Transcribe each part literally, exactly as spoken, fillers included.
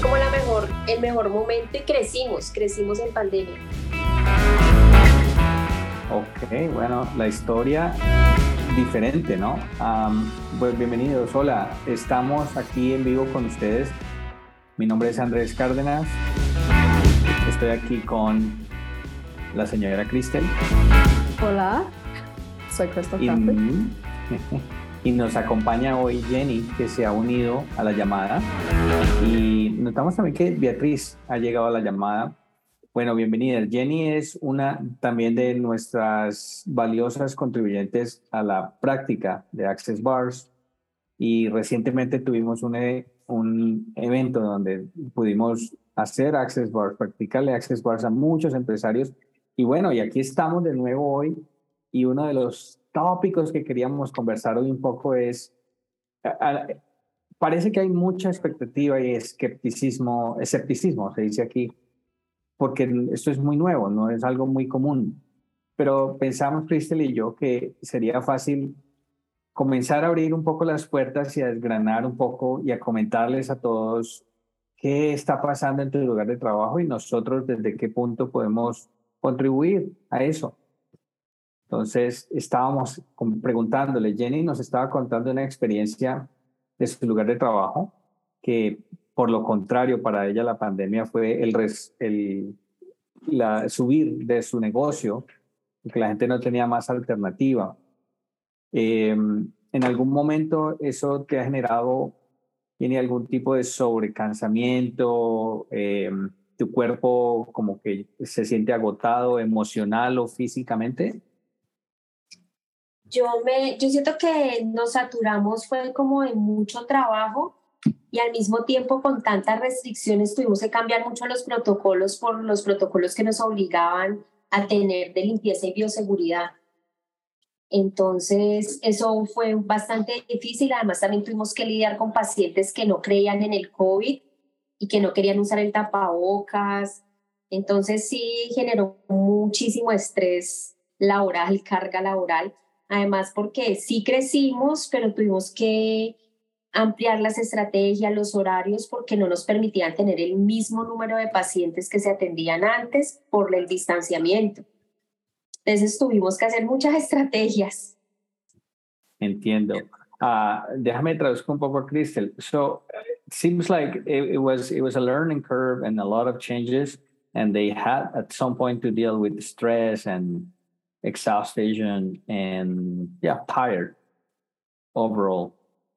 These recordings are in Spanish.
como la mejor, el mejor momento y crecimos, crecimos en pandemia. Ok, bueno, la historia diferente, ¿no? Um, pues bienvenidos, hola, estamos aquí en vivo con ustedes. Mi nombre es Andrés Cárdenas, estoy aquí con la señora Cristel. Hola, soy Crystal y, Crawford. y nos acompaña hoy Jenny, que se ha unido a la llamada. Y notamos también que Beatriz ha llegado a la llamada. Bueno, bienvenida. Jenny es una también de nuestras valiosas contribuyentes a la práctica de Access Bars y recientemente tuvimos un, un evento donde pudimos hacer Access Bars, practicarle Access Bars a muchos empresarios y bueno, y aquí estamos de nuevo hoy y uno de los tópicos que queríamos conversar hoy un poco es, a, a, parece que hay mucha expectativa y escepticismo, escepticismo se dice aquí, porque esto es muy nuevo, no es algo muy común. Pero pensamos, Cristel y yo, que sería fácil comenzar a abrir un poco las puertas y a desgranar un poco y a comentarles a todos qué está pasando en tu lugar de trabajo y nosotros desde qué punto podemos contribuir a eso. Entonces, estábamos preguntándole, Jenny nos estaba contando una experiencia de su lugar de trabajo que por lo contrario, para ella la pandemia fue el, res, el la, subir de su negocio, porque la gente no tenía más alternativa. Eh, ¿En algún momento eso te ha generado, tiene algún tipo de sobrecansamiento? Eh, ¿Tu cuerpo como que se siente agotado emocional o físicamente? Yo, me, yo siento que nos saturamos, fue como de mucho trabajo y al mismo tiempo con tantas restricciones tuvimos que cambiar mucho los protocolos por los protocolos que nos obligaban a tener de limpieza y bioseguridad. Entonces eso fue bastante difícil, además también tuvimos que lidiar con pacientes que no creían en el COVID y que no querían usar el tapabocas. Entonces sí generó muchísimo estrés laboral, carga laboral. Además, porque sí crecimos, pero tuvimos que ampliar las estrategias, los horarios, porque no nos permitían tener el mismo número de pacientes que se atendían antes por el distanciamiento. Entonces tuvimos que hacer muchas estrategias. Entiendo. Uh, déjame traduzco un poco a Cristel. So it seems like it, it was it was a learning curve and a lot of changes, and they had at some point to deal with stress and exhaustion and yeah, tired overall.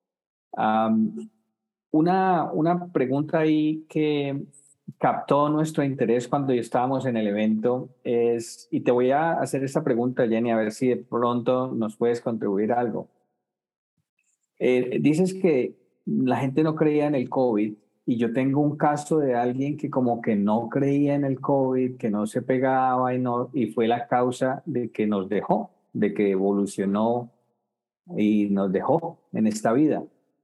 Um, una, una pregunta ahí que captó nuestro interés cuando estábamos en el evento es, y te voy a hacer esta pregunta, Jenny, a ver si de pronto nos puedes contribuir algo. Eh, dices que la gente no creía en el COVID y yo tengo un caso de alguien que como que no creía en el COVID, que no se pegaba y, no, y fue la causa de que nos dejó, de que evolucionó y nos dejó en esta vida.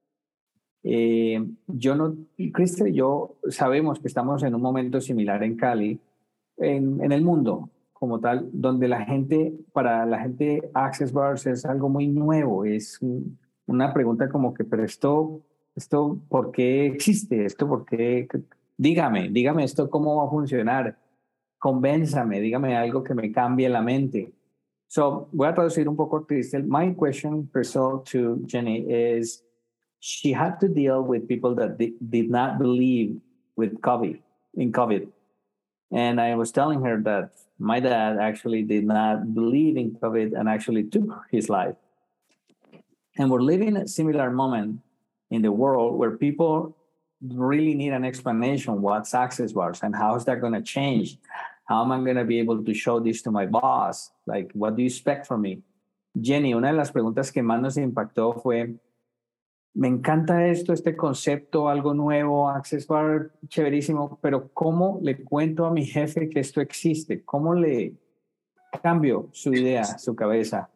Eh, yo no, Cristel y yo sabemos que estamos en un momento similar en Cali, en, en el mundo como tal, donde la gente, para la gente Access Bars es algo muy nuevo, es un, una pregunta como que, pero esto, esto, ¿por qué existe? ¿Esto por qué? Dígame, dígame esto, ¿cómo va a funcionar? Convénzame, dígame algo que me cambie la mente. So, voy a traducir un poco, Cristel. My question, personal to Jenny, is she had to deal with people that di- did not believe with COVID, in COVID. And I was telling her that my dad actually did not believe in COVID and actually took his life. And we're living a similar moment in the world where people really need an explanation what's Access Bars and how is that going to change? How am I going to be able to show this to my boss? Like, what do you expect from me? Jenny, una de las preguntas que más nos impactó fue, me encanta esto, este concepto, algo nuevo, Access Bar, chéverísimo, pero ¿cómo le cuento a mi jefe que esto existe? ¿Cómo le cambio su idea, su cabeza?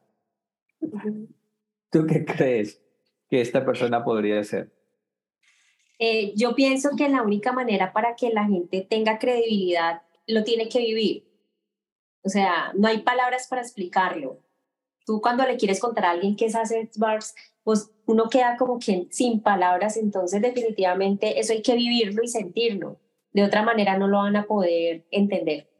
¿Tú qué crees que esta persona podría hacer? Eh, yo pienso que la única manera para que la gente tenga credibilidad lo tiene que vivir. O sea, no hay palabras para explicarlo. Tú cuando le quieres contar a alguien qué es Access Bars, pues uno queda como que sin palabras, entonces definitivamente eso hay que vivirlo y sentirlo. De otra manera no lo van a poder entender.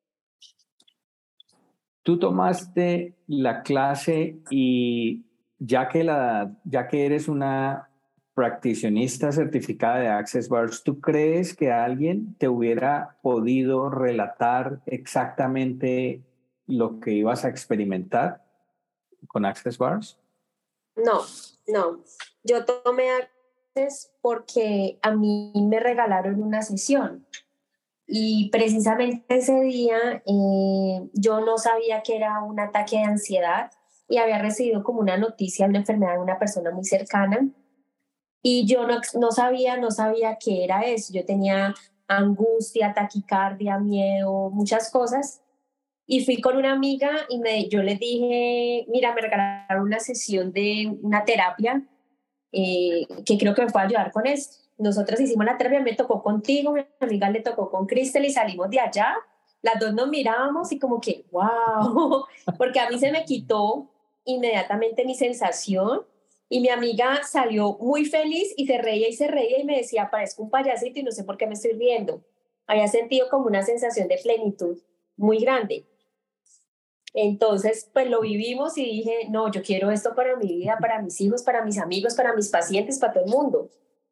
Tú tomaste la clase y ya que, la, ya que eres una practicionista certificada de Access Bars, ¿tú crees que alguien te hubiera podido relatar exactamente lo que ibas a experimentar con Access Bars? No, no. Yo tomé Access porque a mí me regalaron una sesión. Y precisamente ese día eh, yo no sabía que era un ataque de ansiedad y había recibido como una noticia de una enfermedad de una persona muy cercana y yo no, no sabía, no sabía qué era eso. Yo tenía angustia, taquicardia, miedo, muchas cosas y fui con una amiga y me, yo le dije, mira, me regalaron una sesión de una terapia eh, que creo que me puede ayudar con esto. Nosotros hicimos la terapia, me tocó contigo, mi amiga le tocó con Cristel y salimos de allá. Las dos nos mirábamos y como que, wow, porque a mí se me quitó inmediatamente mi sensación y mi amiga salió muy feliz y se reía y se reía y me decía, parezco un payasito y no sé por qué me estoy riendo. Había sentido como una sensación de plenitud muy grande. Entonces, pues lo vivimos y dije, no, yo quiero esto para mi vida, para mis hijos, para mis amigos, para mis pacientes, para todo el mundo.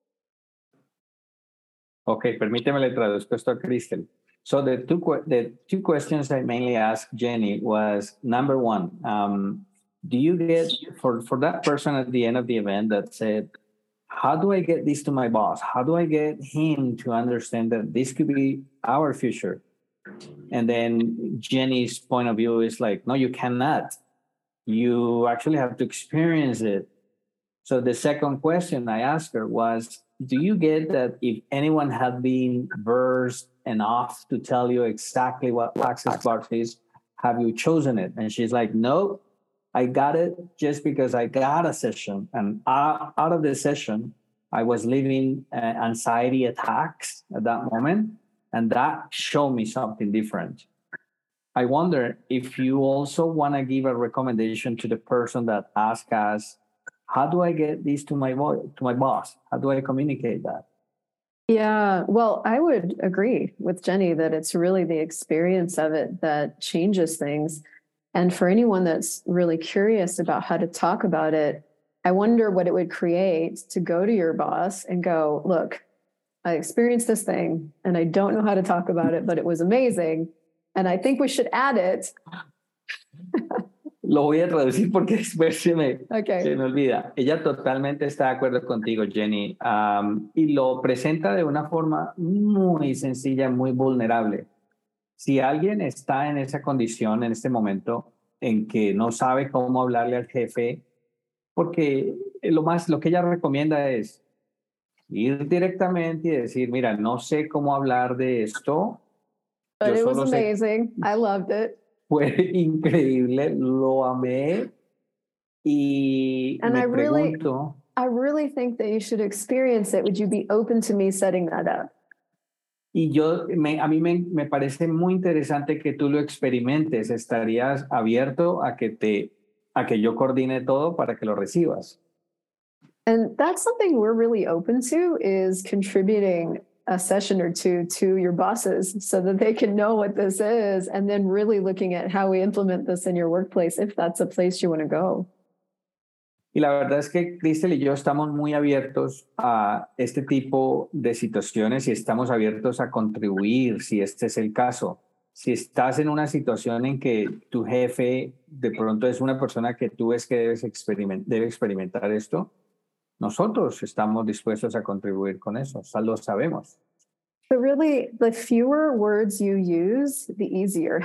Okay, permíteme le traduzco esto a Cristel. So the two the two questions I mainly asked Jenny was, number one, um, do you get, for, for that person at the end of the event that said, how do I get this to my boss? How do I get him to understand that this could be our future? And then Jenny's point of view is like, no, you cannot. You actually have to experience it. So the second question I asked her was, do you get that if anyone had been versed enough to tell you exactly what Access Bars is, have you chosen it? And she's like, no, I got it just because I got a session. And out of the session, I was living uh, anxiety attacks at that moment. And that showed me something different. I wonder if you also want to give a recommendation to the person that asked us, how do I get this to my boy, to my boss? How do I communicate that? Yeah, well, I would agree with Jenny that it's really the experience of it that changes things. And for anyone that's really curious about how to talk about it, I wonder what it would create to go to your boss and go, look, I experienced this thing and I don't know how to talk about it, but it was amazing. And I think we should add it. Lo voy a traducir porque después se me, okay. se me olvida. Ella totalmente está de acuerdo contigo, Jenny, um, y lo presenta de una forma muy sencilla, muy vulnerable. Si alguien está en esa condición en este momento en que no sabe cómo hablarle al jefe, porque lo más, lo que ella recomienda es ir directamente y decir, mira, no sé cómo hablar de esto. But it was amazing. I loved it. Fue increíble, lo amé y and me I really, pregunto. I really think that you should experience it. Would you be open to me setting that up? Y yo, me, a mí me, me parece muy interesante que tú lo experimentes. ¿Estarías abierto a que te, a que yo coordine todo para que lo recibas? And that's something we're really open to, is contributing a session or two to your bosses so that they can know what this is, and then really looking at how we implement this in your workplace, if that's a place you want to go. Y la verdad es que Cristel y yo estamos muy abiertos a este tipo de situaciones y estamos abiertos a contribuir si este es el caso. Si estás en una situación en que tu jefe de pronto es una persona que tú ves que debes experiment- debe experimentar esto, nosotros estamos dispuestos a contribuir con eso, o sea, lo sabemos. But really, the fewer words you use, the easier.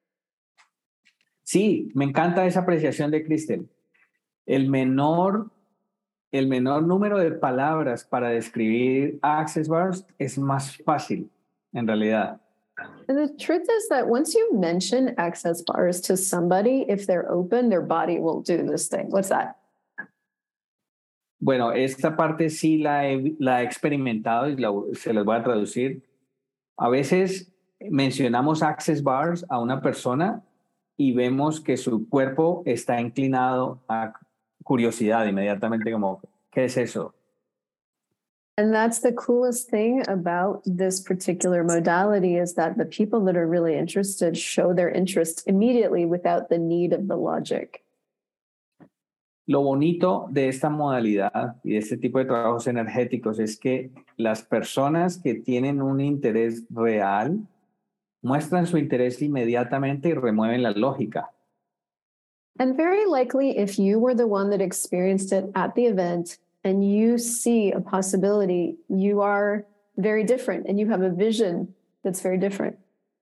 Sí, me encanta esa apreciación de Cristel. El menor, el menor número de palabras para describir Access Bars es más fácil, en realidad. And the truth is that once you mention Access Bars to somebody, if they're open, their body will do this thing. What's that? Bueno, esta parte sí la he, la he experimentado y la, se las voy a traducir. A veces mencionamos Access Bars a una persona y vemos que su cuerpo está inclinado a curiosidad inmediatamente como, ¿qué es eso? And that's the coolest thing about this particular modality is that the people that are really interested show their interest immediately without the need of the logic. Lo bonito de esta modalidad y de este tipo de trabajos energéticos es que las personas que tienen un interés real muestran su interés inmediatamente y remueven la lógica. And very likely, if you were the one that experienced it at the event and you see a possibility, you are very different and you have a vision that's very different.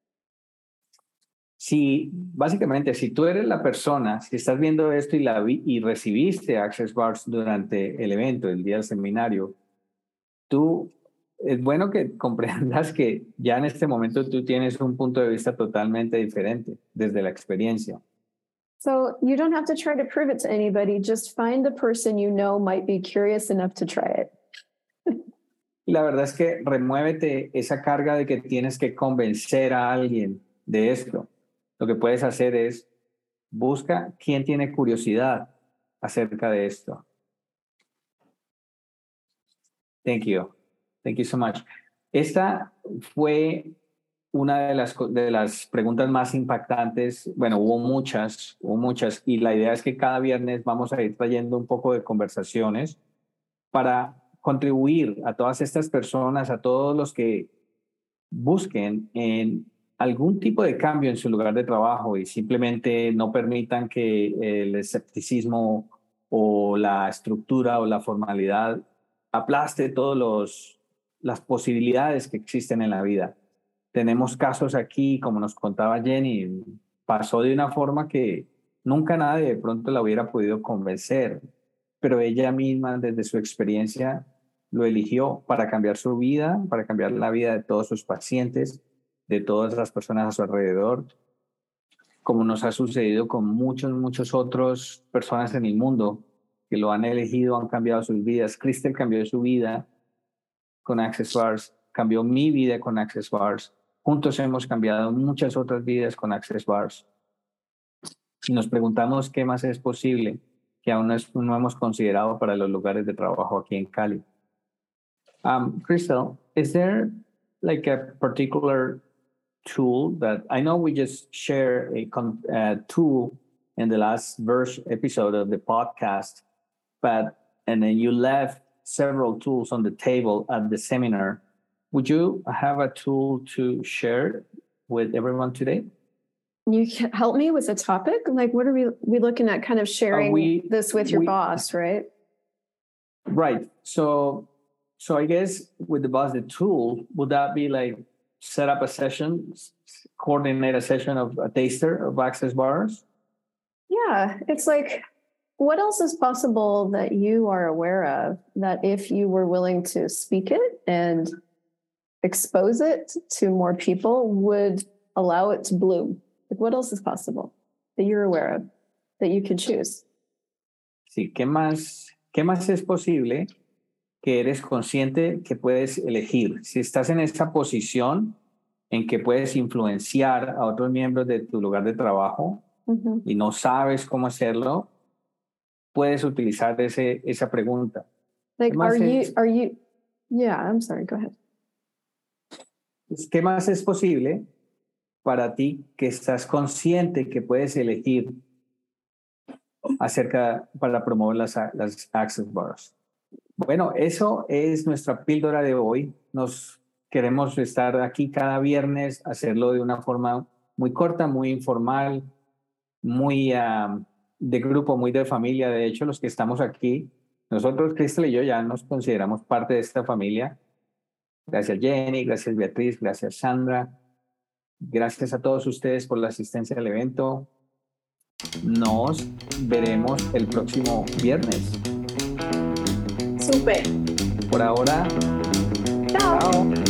Si, básicamente, si tú eres la persona, si estás viendo esto y, la vi, y recibiste Access Bars durante el evento, el día del seminario, tú, es bueno que comprendas que ya en este momento tú tienes un punto de vista totalmente diferente desde la experiencia. So you don't have to try to prove it to anybody. Just find the person you know might be curious enough to try it. Y la verdad es que remuévete esa carga de que tienes que convencer a alguien de esto. Lo que puedes hacer es busca quién tiene curiosidad acerca de esto. Thank you. Thank you so much. Esta fue una de las, de las preguntas más impactantes. Bueno, hubo muchas, hubo muchas, y la idea es que cada viernes vamos a ir trayendo un poco de conversaciones para contribuir a todas estas personas, a todos los que busquen en algún tipo de cambio en su lugar de trabajo y simplemente no permitan que el escepticismo o la estructura o la formalidad aplaste todas las posibilidades que existen en la vida. Tenemos casos aquí, como nos contaba Jenny, pasó de una forma que nunca nadie de pronto la hubiera podido convencer, pero ella misma desde su experiencia lo eligió para cambiar su vida, para cambiar la vida de todos sus pacientes, de todas las personas a su alrededor, como nos ha sucedido con muchos, muchos otros personas en el mundo que lo han elegido, han cambiado sus vidas. Crystal cambió su vida con Access Bars, cambió mi vida con Access Bars. Juntos hemos cambiado muchas otras vidas con Access Bars. Y nos preguntamos qué más es posible que aún no, es, no hemos considerado para los lugares de trabajo aquí en Cali. Um, Crystal, is there like a particular tool that I know we just share a uh, tool in the last verse episode of the podcast, but and then you left several tools on the table at the seminar. Would you have a tool to share with everyone today? You can help me with a topic? Like, what are we, we looking at kind of sharing uh, we, this with your we, boss, right? Right. So, so I guess with the boss, the tool, would that be like set up a session, coordinate a session of a taster of Access Bars? Yeah, it's like, what else is possible that you are aware of that if you were willing to speak it and expose it to more people would allow it to bloom? Like, what else is possible that you're aware of that you could choose? Sí, ¿qué más, qué más es posible que eres consciente que puedes elegir? Si estás en esa posición en que puedes influenciar a otros miembros de tu lugar de trabajo uh-huh. y no sabes cómo hacerlo, puedes utilizar ese, esa pregunta. Like, are es, you, are you, yeah, I'm sorry, go ahead. ¿Qué más es posible para ti que estás consciente que puedes elegir acerca para promover las, las Access Bars? Bueno, eso es nuestra píldora de hoy. Nos queremos estar aquí cada viernes, hacerlo de una forma muy corta, muy informal, muy uh, de grupo, muy de familia. De hecho, los que estamos aquí, nosotros, Crystal y yo, ya nos consideramos parte de esta familia. Gracias Jenny, gracias Beatriz, gracias Sandra. Gracias a todos ustedes por la asistencia al evento. Nos veremos el próximo viernes. Súper. Por ahora, chao. Chao.